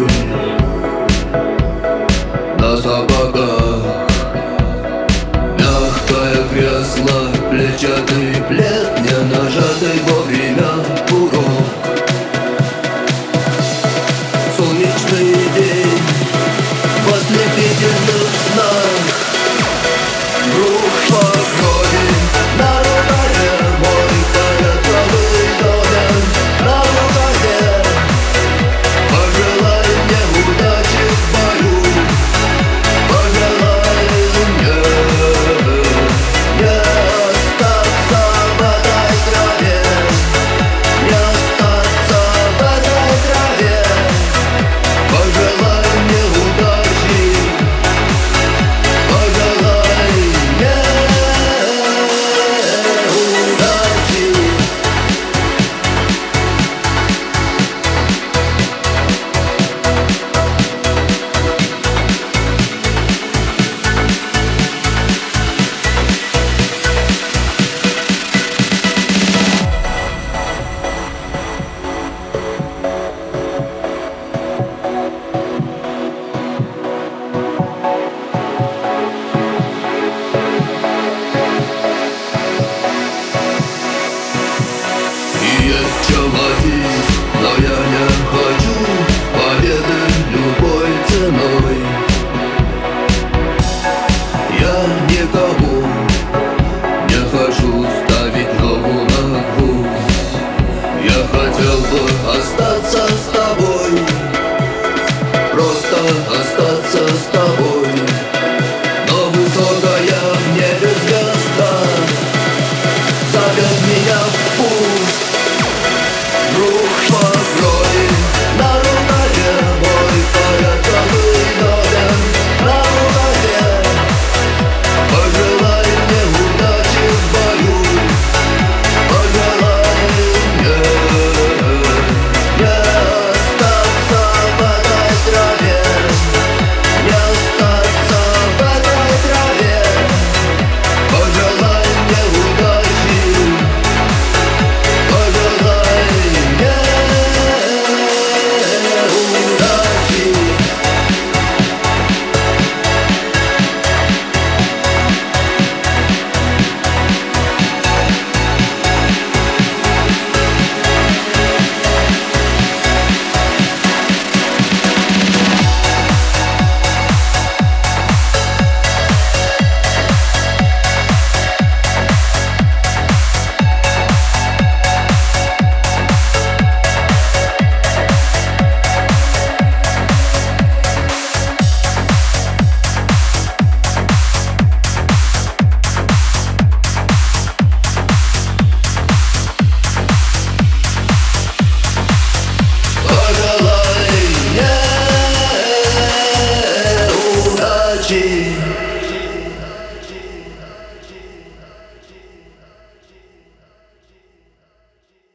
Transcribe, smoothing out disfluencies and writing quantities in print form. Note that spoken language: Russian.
на сапогах. Мягкое кресло, клетчатый плед, не нажатый вовремя курок. Солнечный день в ослепительных снах. Рух по крови на рукаве, мой фиолетовый домен на рукаве. Пожелай мне удачи в бою, пожелай мне не остаться в этой траве, не остаться в этой траве. Пожелай мне удачи, пожелай мне удачи. Есть чем ловить, но я не хочу победы любой ценой. Я никому не хочу ставить ногу на гвоздь. Я хотел бы остаться с тобой, просто остаться.